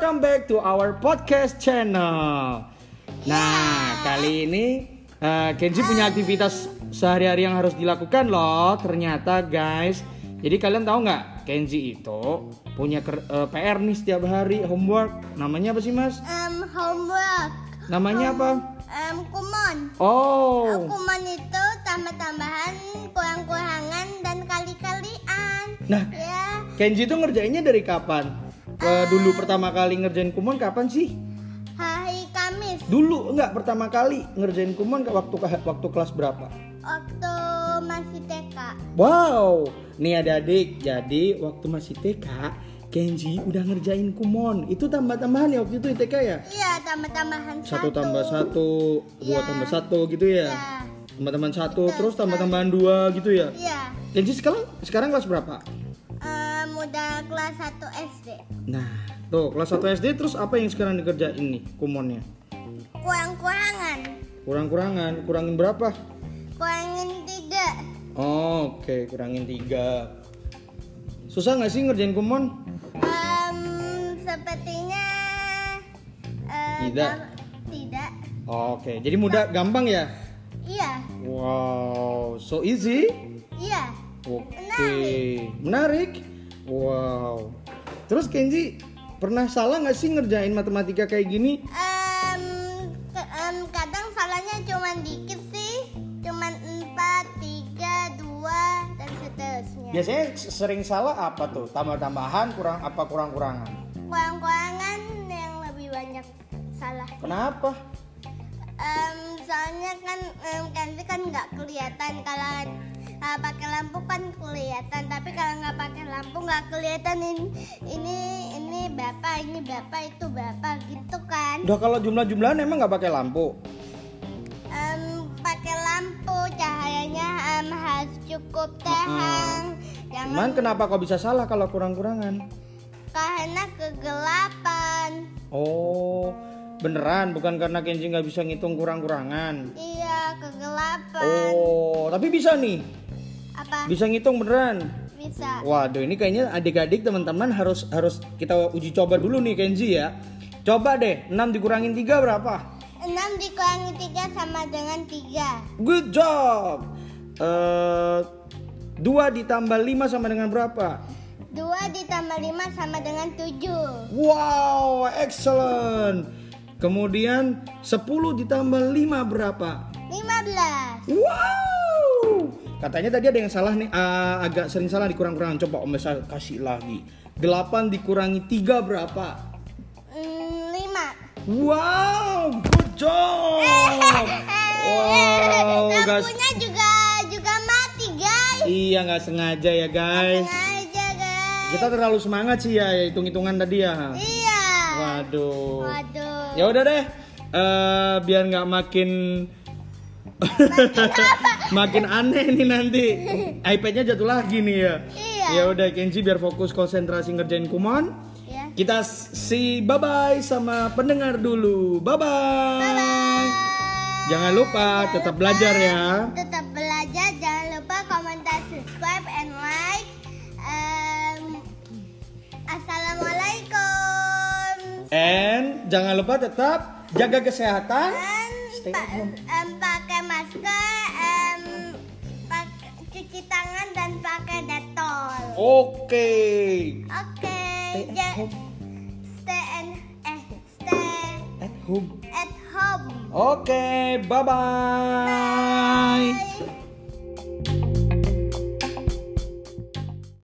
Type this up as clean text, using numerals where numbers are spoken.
welcome back to our podcast channel. Nah, kali ini Kenji punya aktivitas sehari-hari yang harus dilakukan loh. Ternyata guys, jadi kalian tahu nggak? Kenji itu punya PR nih setiap hari, homework. Namanya apa sih mas? Homework. Namanya apa? Kumon. Oh. Kumon itu tambah-tambahan, kurang-kurangan dan kali-kalian. Nah, Ya. Kenji itu ngerjainnya dari kapan? Dulu pertama kali ngerjain kumon kapan sih? Hari Kamis. Dulu enggak, pertama kali ngerjain kumon waktu kelas berapa? Waktu masih TK. Wow, nih adik-adik, jadi waktu masih TK Kenji udah ngerjain kumon. Itu tambah-tambahan ya waktu itu TK ya? Iya, tambah-tambahan 1 tambah 1, 2 Iya. tambah 1 gitu ya? Iya. Tambah-tambahan 1, Iya, terus tambah-tambahan 2 gitu ya? Iya. Kenji sekarang kelas berapa? Udah kelas 1 SD. Nah, tuh kelas 1 SD, terus apa yang sekarang dikerjain nih kumonnya? Kurang-kurangan. Kurangin berapa? Kurangin 3. Oke, kurangin 3. Susah nggak sih ngerjain kumon? Sepertinya Tidak. Tidak. Oke, jadi mudah, gampang ya? Iya. Wow, so easy. Iya. Oke, menarik. Wow. Terus Kenji pernah salah nggak sih ngerjain matematika kayak gini? Kadang salahnya cuma dikit sih, cuma 4, 3, 2 dan seterusnya. Biasanya sering salah apa tuh? Tambah-tambahan, kurang-kurangan? Kurang-kurangan yang lebih banyak salah. Kenapa? Soalnya kan kan nggak kelihatan. Kalau pakai lampu kan kelihatan, tapi kalau nggak pakai lampu nggak kelihatan ini berapa, itu berapa gitu kan. Udah, kalau jumlah-jumlahan emang nggak pakai lampu? Pakai lampu, cahayanya harus cukup terang. Cuman kenapa kok bisa salah kalau kurang-kurangan? Karena kegelapan. Oh, beneran bukan karena Kenji nggak bisa ngitung kurang-kurangan? Iya, kegelapan. Oh, tapi bisa nih? Apa? Bisa ngitung beneran? Bisa. Waduh, ini kayaknya adik-adik teman-teman harus kita uji coba dulu nih Kenji ya. Coba deh, 6 dikurangin 3 berapa? 6 dikurangi 3 sama dengan 3. Good job. 2 ditambah 5 sama dengan berapa? 2 ditambah 5 sama dengan 7. Wow, excellent. Kemudian 10 ditambah 5 berapa? 15. Wow. Katanya tadi ada yang salah nih, agak sering salah dikurang-kurangan. Coba Om bisa kasih lagi. 8 dikurangi 3 berapa? 5. Wow, good job. Wow, guys. Lampunya juga mati, guys. Iya, nggak sengaja ya guys. Sengaja, guys. Kita terlalu semangat sih ya hitung-hitungan tadi ya. Iya. Waduh. Waduh. Ya udah deh, biar nggak makin makin aneh nih nanti. iPad-nya jatuh lagi nih ya. Iya. Ya udah Kenji biar fokus konsentrasi ngerjain kumon. Ya. Kita bye bye sama pendengar dulu. Bye bye. Bye. Jangan lupa tetap belajar ya. Tetap belajar, jangan lupa komentar, subscribe, and like. Assalamualaikum. And jangan lupa tetap jaga kesehatan. Stay at home. Pakai masker, cuci tangan dan pakai detol. Oke. Oke. Stay at home. Stay At home. at home. Oke, bye bye. Bye.